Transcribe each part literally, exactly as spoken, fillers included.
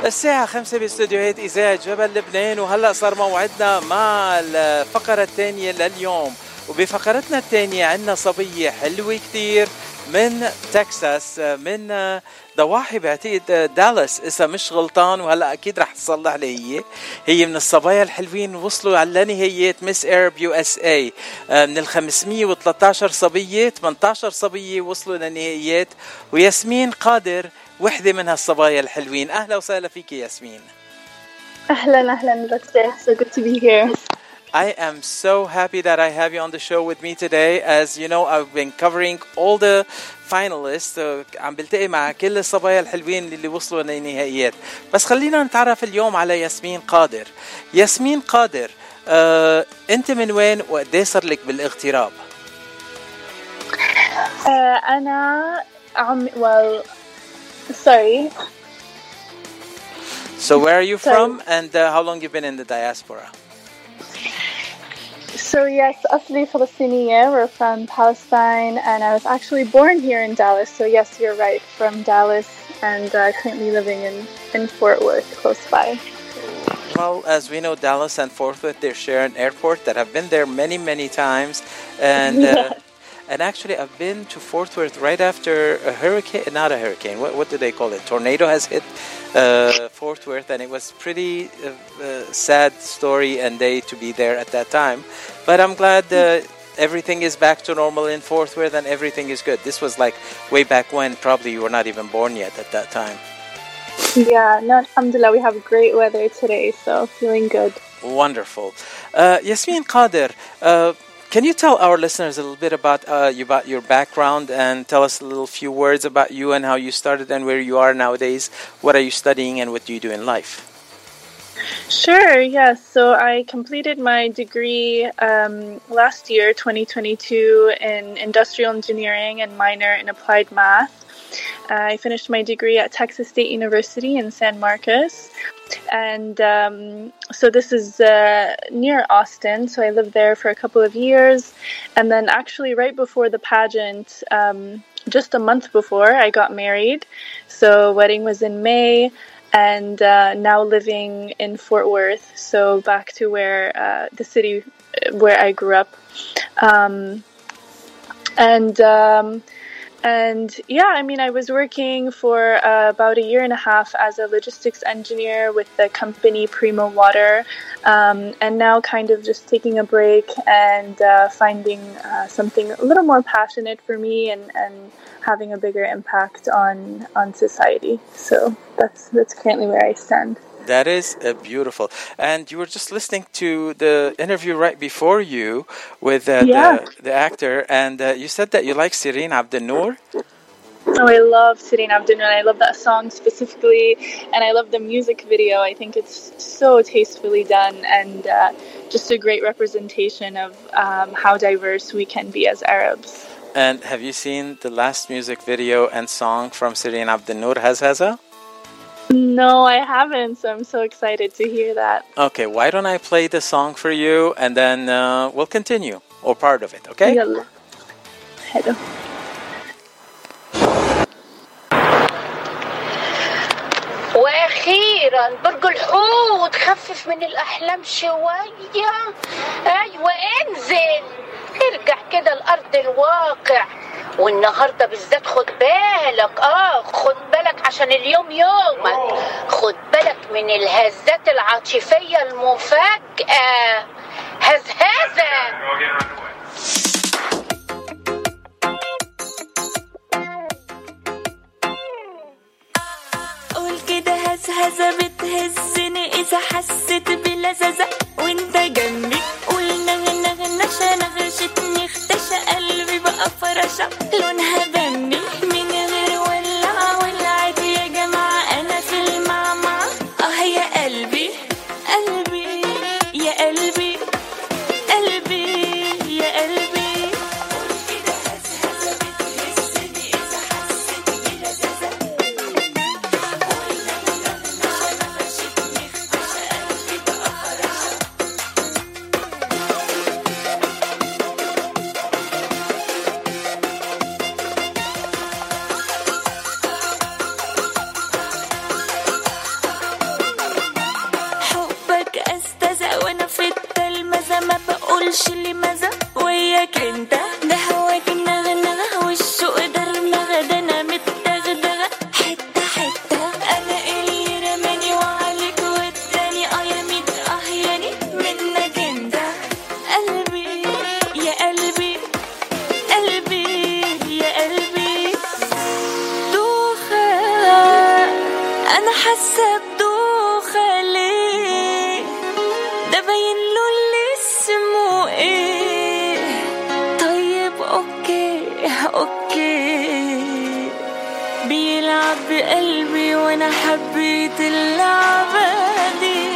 الساعة خمسة باستديوهات إذاعة جبل لبنان، وهلأ صار موعدنا مع الفقرة الثانية لليوم. وبفقرتنا الثانية عنا صبية حلوة كتير من تكساس، من ضواحي بعتقد دالاس إذا مش غلطان، وهلأ أكيد رح تصلح لي. هي هي من الصبايا الحلوين وصلوا على نهايات مس ايرب يو اس اي. من ال خمسمية وثلاثة عشر صبية ثمانية عشر صبية وصلوا لنهايات، وياسمين قادر وحدة من هالصبايا الحلوين. أهلا وسهلا فيك ياسمين. أهلا أهلا دكتور, so good to be here. I am so happy that I have you on the show with me today. As you know, I've been covering all the finalists. uh, عم بلتقي مع كل الصبايا الحلوين اللي وصلوا للنهائيات. بس خلينا نتعرف اليوم على ياسمين قادر. ياسمين قادر، uh, أنت من وين وقديه صار لك بالاغتراب؟ uh, أنا عم well sorry. So where are you sorry. from, and uh, how long you've been in the diaspora? So yes, أصلي فلسطينية. We're from Palestine, and I was actually born here in Dallas. So yes, you're right, from Dallas, and uh, currently living in, in Fort Worth, close by. Well, as we know, Dallas and Fort Worth, they share an airport that I've been there many, many times. And uh, Yes. and actually, I've been to Fort Worth right after a hurricane, not a hurricane, what, what do they call it? Tornado has hit uh, Fort Worth, and it was pretty uh, uh, sad story and day to be there at that time. But I'm glad uh, everything is back to normal in Fort Worth and everything is good. This was like way back when, probably you were not even born yet at that time. Yeah, no, alhamdulillah, we have great weather today, so feeling good. Wonderful. Uh, Yasmin Qadir, uh, can you tell our listeners a little bit about uh, you, about your background, and tell us a little few words about you and how you started and where you are nowadays? What are you studying and what do you do in life? Sure, yes. So I completed my degree um, last year, twenty twenty-two, in industrial engineering and minor in applied math. Uh, I finished my degree at Texas State University in San Marcos. And um, so this is uh, near Austin. So I lived there for a couple of years. And then actually right before the pageant, um, just a month before, I got married. So wedding was in May. And uh, now living in Fort Worth, so back to where uh, the city where I grew up, um, and um, and yeah, I mean, I was working for uh, about a year and a half as a logistics engineer with the company Primo Water, um, and now kind of just taking a break and uh, finding uh, something a little more passionate for me and and. having a bigger impact on on society. So that's that's currently where I stand. That is uh, beautiful. And you were just listening to the interview right before you with uh, Yeah. the, the actor, and uh, you said that you like Sireen Abdenoor. Oh, I love Sireen Abdenoor. I love that song specifically, and I love the music video. I think it's so tastefully done, and uh, just a great representation of um, how diverse we can be as Arabs. And have you seen the last music video and song from Sireen Abdenoor, Hazhaza? No, I haven't, so I'm so excited to hear that. Okay, why don't I play the song for you, and then uh, we'll continue, or part of it, okay? Yalla. Hello. واخيرا برج الحوت، خفف من الاحلام شويه. ايوه انزل، ارجع كده لارض الواقع. والنهارده بالذات خد بالك، اه خد بالك عشان اليوم يومك. خد بالك من الهزات العاطفيه المفاجئه. هزهزه. قول كده هزهزة بتهزني إذا حسيت بلذذة وانت جنبي. قول نغنى غنشة نغشتني اختشى قلبي بقى فرشة لونها بني من غير ولع ولعت يا جماعة أنا في المعمعة. اه يا قلبي قلبي يا قلبي قلبي يا قلبي. قول كده هزهزة بتهزني إذا حسيت بلذذة حاسة بدوخة ليه ده باين له اللي اسمه ايه طيب اوكي اوكي بيلعب بقلبي وانا حبيت اللعبة دي.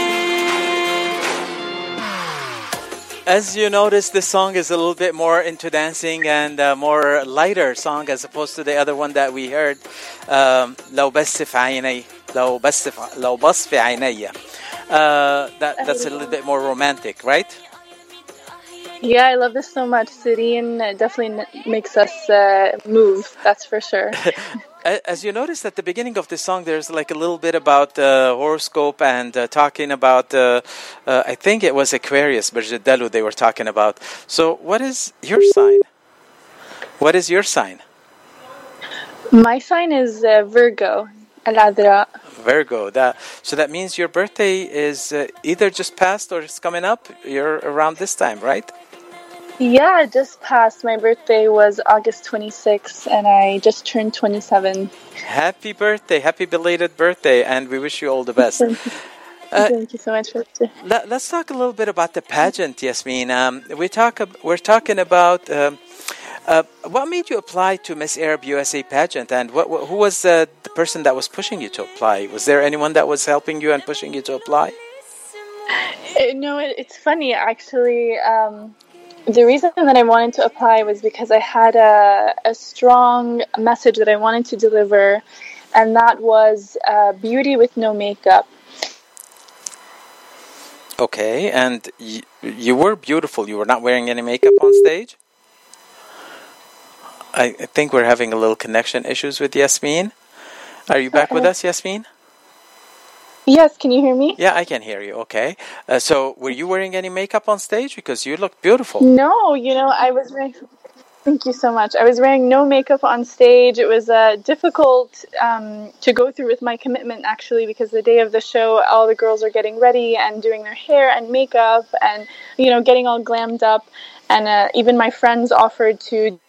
As you notice, this song is a little bit more into dancing and a more lighter song as opposed to the other one that we heard. Um, لو بس في عيني لو بس في لو بص في عيني. Uh, that that's a little bit more romantic, right? Yeah, I love this so much. Sireen definitely makes us uh, move. That's for sure. As you noticed at the beginning of the song, there's like a little bit about uh, horoscope and uh, talking about, uh, uh, I think it was Aquarius, Berjadalu they were talking about. So what is your sign? What is your sign? My sign is uh, Virgo, Al-Adra. Virgo. That, so that means your birthday is uh, either just passed or it's coming up. You're around this time, right? Yeah, just passed. My birthday was August twenty-sixth, and I just turned twenty-seven. Happy birthday. Happy belated birthday, and we wish you all the best. Thank you, Uh, Thank you so much. For let, let's talk a little bit about the pageant, Yasmin. Um, we talk, we're talking about um, uh, what made you apply to Miss Arab U S A pageant, and what, who was uh, the person that was pushing you to apply? Was there anyone that was helping you and pushing you to apply? Uh, No, it, it's funny actually. Um, the reason that I wanted to apply was because I had a, a strong message that I wanted to deliver, and that was uh, beauty with no makeup. Okay, and y- you were beautiful. You were not wearing any makeup on stage? I, I think we're having a little connection issues with Yasmin. Are you back with us, Yasmin? Yes, can you hear me? Yeah, I can hear you. Okay. Uh, so, were you wearing any makeup on stage? Because you look beautiful. No, you know, I was wearing. Thank you so much. I was wearing no makeup on stage. It was uh, difficult um, to go through with my commitment, actually, because the day of the show, all the girls are getting ready and doing their hair and makeup and, you know, getting all glammed up. And uh, even my friends offered to.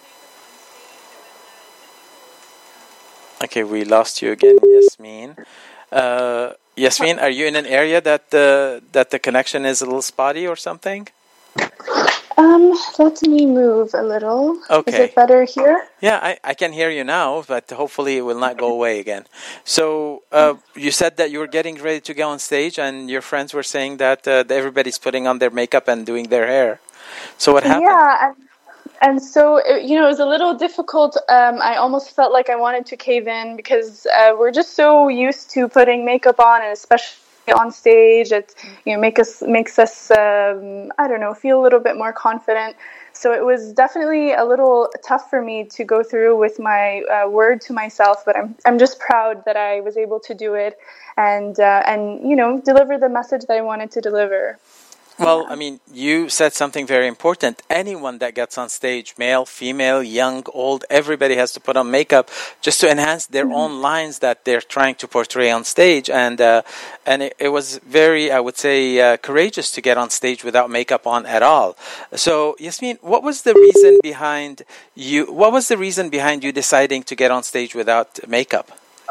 Okay, we lost you again, Yasmin. Uh, Yasmin, are you in an area that the that the connection is a little spotty or something? Um, let me move a little. Okay. Is it better here? Yeah, I, I can hear you now, but hopefully it will not go away again. So uh, you said that you were getting ready to go on stage, and your friends were saying that uh, everybody's putting on their makeup and doing their hair. So what happened? Yeah, and, and so, it, you know, it was a little difficult. Um, I almost felt like I wanted to cave in because uh, we're just so used to putting makeup on, and especially on stage, it you know make us makes us um, I don't know feel a little bit more confident. So it was definitely a little tough for me to go through with my uh, word to myself, but I'm I'm just proud that I was able to do it and uh, and you know deliver the message that I wanted to deliver. Well, I mean, you said something very important. Anyone that gets on stage, male, female, young, old, everybody has to put on makeup just to enhance their mm-hmm. own lines that they're trying to portray on stage. And uh, and it, it was very, I would say, uh, courageous to get on stage without makeup on at all. So, Yasmin, what was the reason behind you? What was the reason behind you deciding to get on stage without makeup?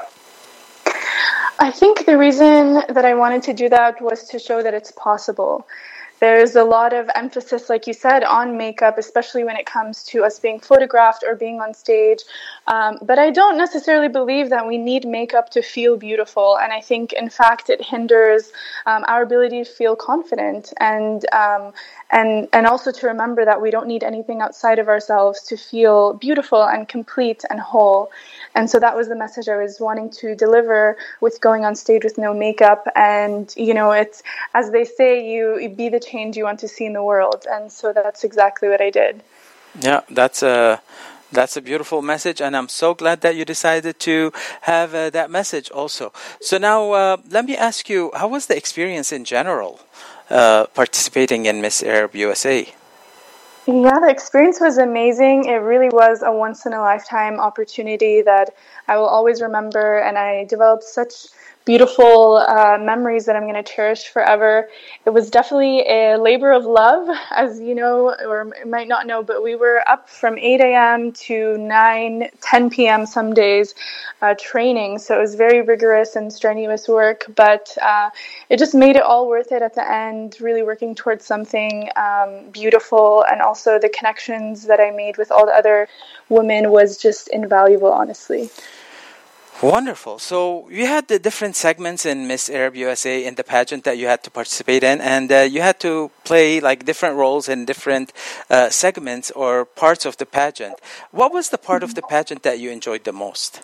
I think the reason that I wanted to do that was to show that it's possible. There's a lot of emphasis, like you said, on makeup, especially when it comes to us being photographed or being on stage. Um, but I don't necessarily believe that we need makeup to feel beautiful. And I think, in fact, it hinders um, our ability to feel confident and um, and and also to remember that we don't need anything outside of ourselves to feel beautiful and complete and whole. And so that was the message I was wanting to deliver with going on stage with no makeup. And, you know, it's, as they say, you, you be the change you want to see in the world. And so that's exactly what I did. Yeah, that's a, that's a beautiful message. And I'm so glad that you decided to have uh, that message also. So now uh, let me ask you, how was the experience in general uh, participating in Miss Arab U S A? Yeah, the experience was amazing. It really was a once-in-a-lifetime opportunity that I will always remember, and I developed such beautiful uh, memories that I'm going to cherish forever. It was definitely a labor of love, as you know, or might not know, but we were up from eight a.m. to nine, ten p.m. some days uh, training. So it was very rigorous and strenuous work, but uh, it just made it all worth it at the end, really working towards something um, beautiful. And also the connections that I made with all the other women was just invaluable, honestly. Wonderful. So you had the different segments in Miss Arab U S A in the pageant that you had to participate in, and uh, you had to play like different roles in different uh, segments or parts of the pageant. What was the part of the pageant that you enjoyed the most?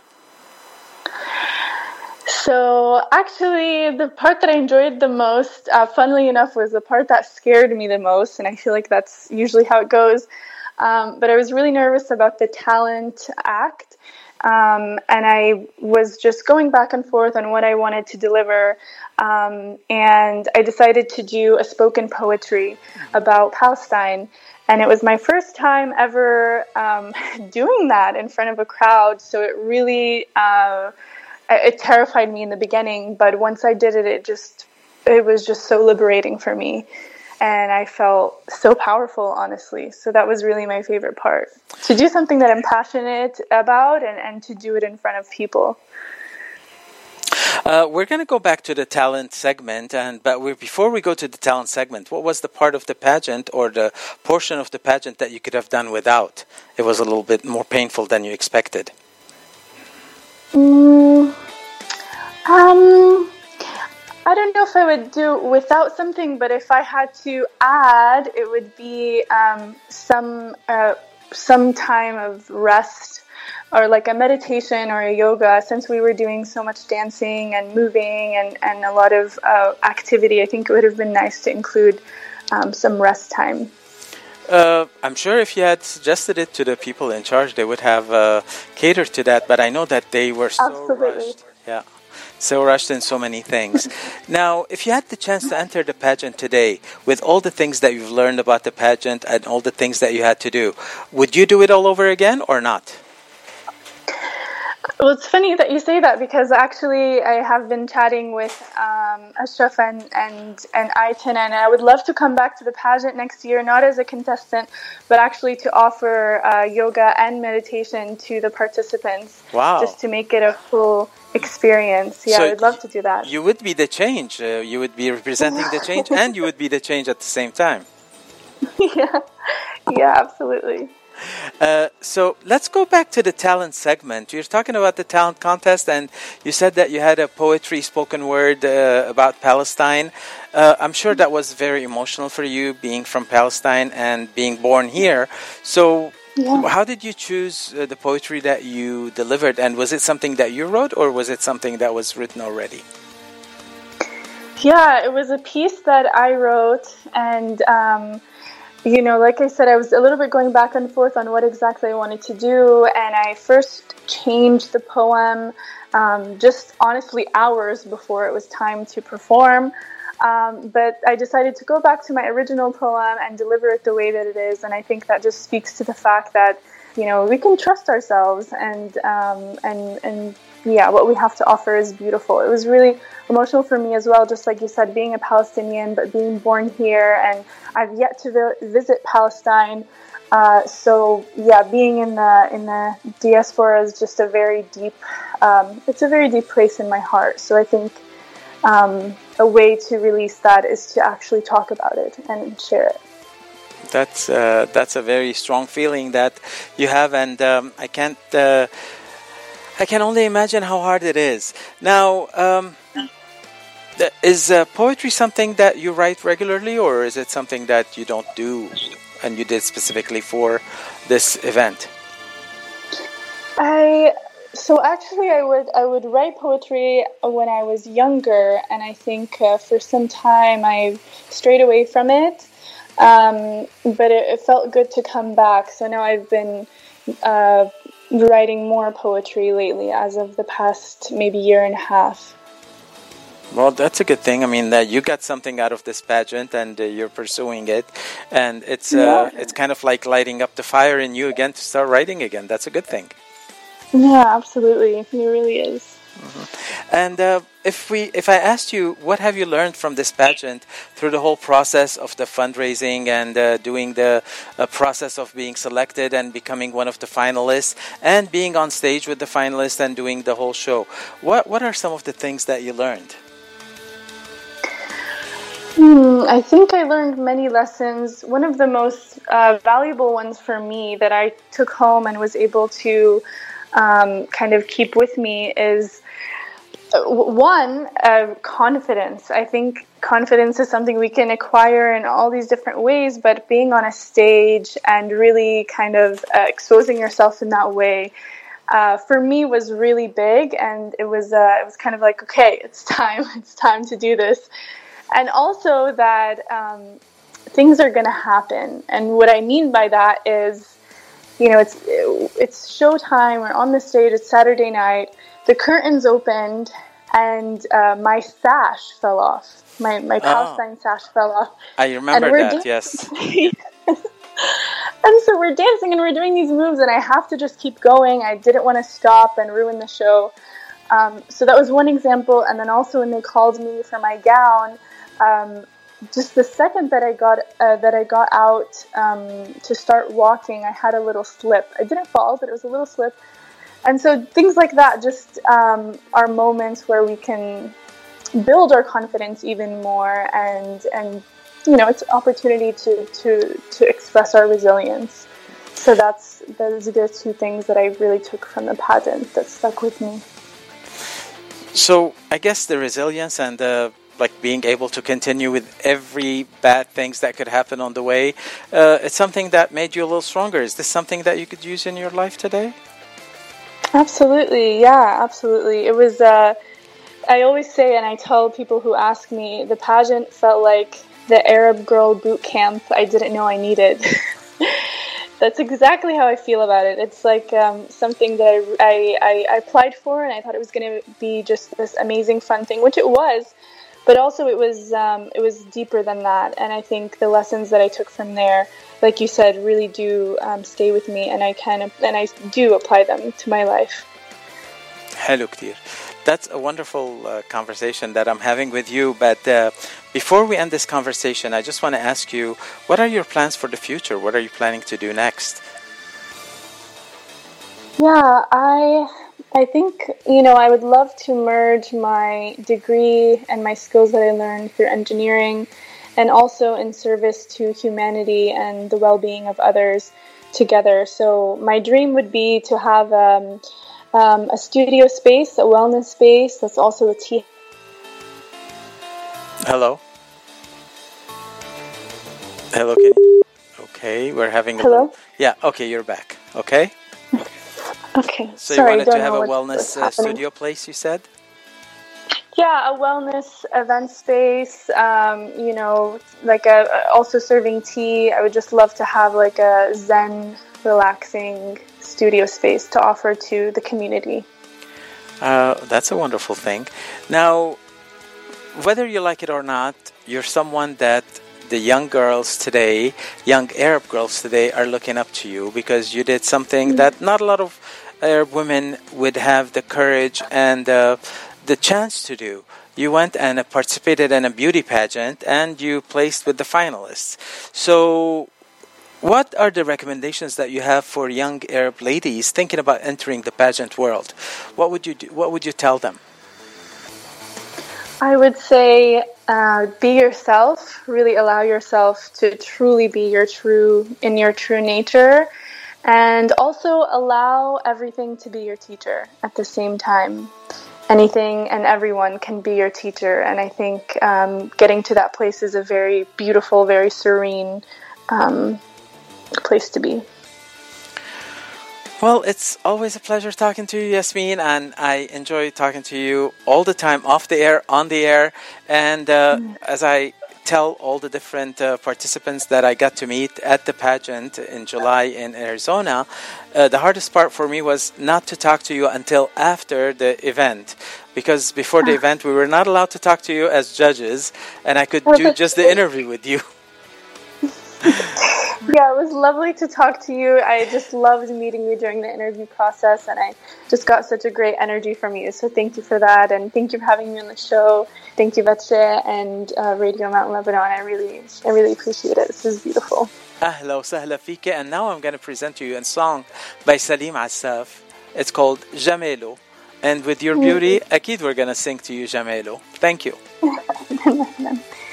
So actually, the part that I enjoyed the most, uh, funnily enough, was the part that scared me the most, and I feel like that's usually how it goes. Um, but I was really nervous about the talent act. Um, and I was just going back and forth on what I wanted to deliver. Um, and I decided to do a spoken poetry about Palestine. And it was my first time ever um, doing that in front of a crowd. So it really, uh, it terrified me in the beginning. But once I did it, it just, it was just so liberating for me. And I felt so powerful, honestly. So that was really my favorite part. To do something that I'm passionate about and, and to do it in front of people. Uh, we're going to go back to the talent segment. and But we, before we go to the talent segment, what was the part of the pageant or the portion of the pageant that you could have done without? It was a little bit more painful than you expected. Mm, um... I don't know if I would do without something, but if I had to add, it would be um, some uh, some time of rest or like a meditation or a yoga. Since we were doing so much dancing and moving and, and a lot of uh, activity, I think it would have been nice to include um, some rest time. Uh, I'm sure if you had suggested it to the people in charge, they would have uh, catered to that, but I know that they were so Absolutely. rushed. Yeah. So rushed in so many things. Now, if you had the chance to enter the pageant today, with all the things that you've learned about the pageant and all the things that you had to do, would you do it all over again or not? Well, it's funny that you say that because actually I have been chatting with um, Ashraf and, and, and Ayten, and I would love to come back to the pageant next year, not as a contestant, but actually to offer uh, yoga and meditation to the participants. Wow. Just to make it a full experience. Yeah, So I would love to do that. You would be the change. Uh, you would be representing the change and you would be the change at the same time. yeah, yeah, absolutely. Uh, so let's go back to the talent segment. You're talking about the talent contest, and you said that you had a poetry spoken word uh, about Palestine. Uh, I'm sure that was very emotional for you, being from Palestine and being born here. So yeah. How did you choose uh, the poetry that you delivered? And was it something that you wrote, or was it something that was written already? Yeah, it was a piece that I wrote, and um, you know, like I said, I was a little bit going back and forth on what exactly I wanted to do, and I first changed the poem um, just honestly hours before it was time to perform. Um, but I decided to go back to my original poem and deliver it the way that it is, and I think that just speaks to the fact that, you know, we can trust ourselves, and um, and and yeah, what we have to offer is beautiful. It was really emotional for me as well, just like you said, being a Palestinian, but being born here, and I've yet to vi- visit Palestine. Uh, so yeah, being in the in the diaspora is just a very deep. Um, it's a very deep place in my heart. So I think um, a way to release that is to actually talk about it and share it. That's uh, that's a very strong feeling that you have, and um, I can't. Uh, I can only imagine how hard it is. Now, um, is uh, poetry something that you write regularly, or is it something that you don't do and you did specifically for this event? I so actually I would I would write poetry when I was younger, and I think uh, for some time I strayed away from it. Um, but it, it felt good to come back. So now I've been uh, writing more poetry lately, as of the past maybe year and a half. Well, that's a good thing. I mean, that you got something out of this pageant, and uh, you're pursuing it, and it's uh, yeah. it's kind of like lighting up the fire in you again to start writing again. That's a good thing. Yeah, absolutely. It really is. Mm-hmm. And uh, if we, if I asked you, what have you learned from this pageant through the whole process of the fundraising and uh, doing the uh, process of being selected and becoming one of the finalists and being on stage with the finalists and doing the whole show? What what are some of the things that you learned? Hmm, I think I learned many lessons. One of the most uh, valuable ones for me that I took home and was able to um, kind of keep with me is uh, one, uh, confidence. I think confidence is something we can acquire in all these different ways, but being on a stage and really kind of uh, exposing yourself in that way, uh, for me was really big, and it was uh, it was kind of like, okay, it's time, it's time to do this. And also that um, things are going to happen. And what I mean by that is, you know, it's it's showtime. We're on the stage. It's Saturday night. The curtains opened, and uh, my sash fell off. My my Palestine oh. sash fell off. I remember that. Dan- yes. And so we're dancing and we're doing these moves, and I have to just keep going. I didn't want to stop and ruin the show. Um, so that was one example. And then also when they called me for my gown. Um, just the second that I got uh, that I got out um, to start walking, I had a little slip. I didn't fall, but it was a little slip. And so things like that just um, are moments where we can build our confidence even more, and and you know, it's an opportunity to to to express our resilience. So that's those are the two things that I really took from the pageant that stuck with me. So I guess the resilience and the like being able to continue with every bad things that could happen on the way, uh, it's something that made you a little stronger. Is this something that you could use in your life today? Absolutely, yeah, absolutely. It was, uh, I always say, and I tell people who ask me, the pageant felt like the Arab Girl boot camp I didn't know I needed. That's exactly how I feel about it. It's like um, something that I, I, I applied for, and I thought it was going to be just this amazing fun thing, which it was. But also it was um, it was deeper than that, and I think the lessons that I took from there, like you said, really do um, stay with me, and I kind of and I do apply them to my life. حلو كتير. That's a wonderful uh, conversation that I'm having with you. But uh, before we end this conversation, I just want to ask you, what are your plans for the future? What are you planning to do next? Yeah, I. I think, you know, I would love to merge my degree and my skills that I learned through engineering and also in service to humanity and the well-being of others together. So my dream would be to have um, um, a studio space, a wellness space that's also a tea. Hello? Hello, can you? Okay, we're having a Hello? little... Yeah, okay, you're back. Okay? Okay. So Sorry, you wanted to have a what, wellness uh, studio place, you said? Yeah, a wellness event space, um, you know, like a, also serving tea. I would just love to have like a Zen, relaxing studio space to offer to the community. Uh, that's a wonderful thing. Now, whether you like it or not, you're someone that the young girls today, young Arab girls today, are looking up to you because you did something mm-hmm. that not a lot of Arab women would have the courage and uh, the chance to do. You went and participated in a beauty pageant and you placed with the finalists. So what are the recommendations that you have for young Arab ladies thinking about entering the pageant world? What would you do? What would you tell them? I would say uh, be yourself, really allow yourself to truly be your true, in your true nature, and also allow everything to be your teacher at the same time. Anything and everyone can be your teacher, and I think um, getting to that place is a very beautiful, very serene um, place to be. Well, it's always a pleasure talking to you, Yasmin, and I enjoy talking to you all the time, off the air, on the air, and uh, mm. as I tell all the different uh, participants that I got to meet at the pageant in July in Arizona, uh, the hardest part for me was not to talk to you until after the event, because before the event we were not allowed to talk to you as judges, and I could do just the interview with you. Yeah, it was lovely to talk to you. I just loved meeting you during the interview process, and I just got such a great energy from you. So thank you for that, and thank you for having me on the show. Thank you, Betche, and uh, Radio Mount Lebanon. I really, I really appreciate it. This is beautiful. أهلا وسهلا فيك. And now I'm going to present to you a song by Salim Assaf. It's called Jamelo. And with your beauty, أكيد we're going to sing to you Jamelo. Thank you.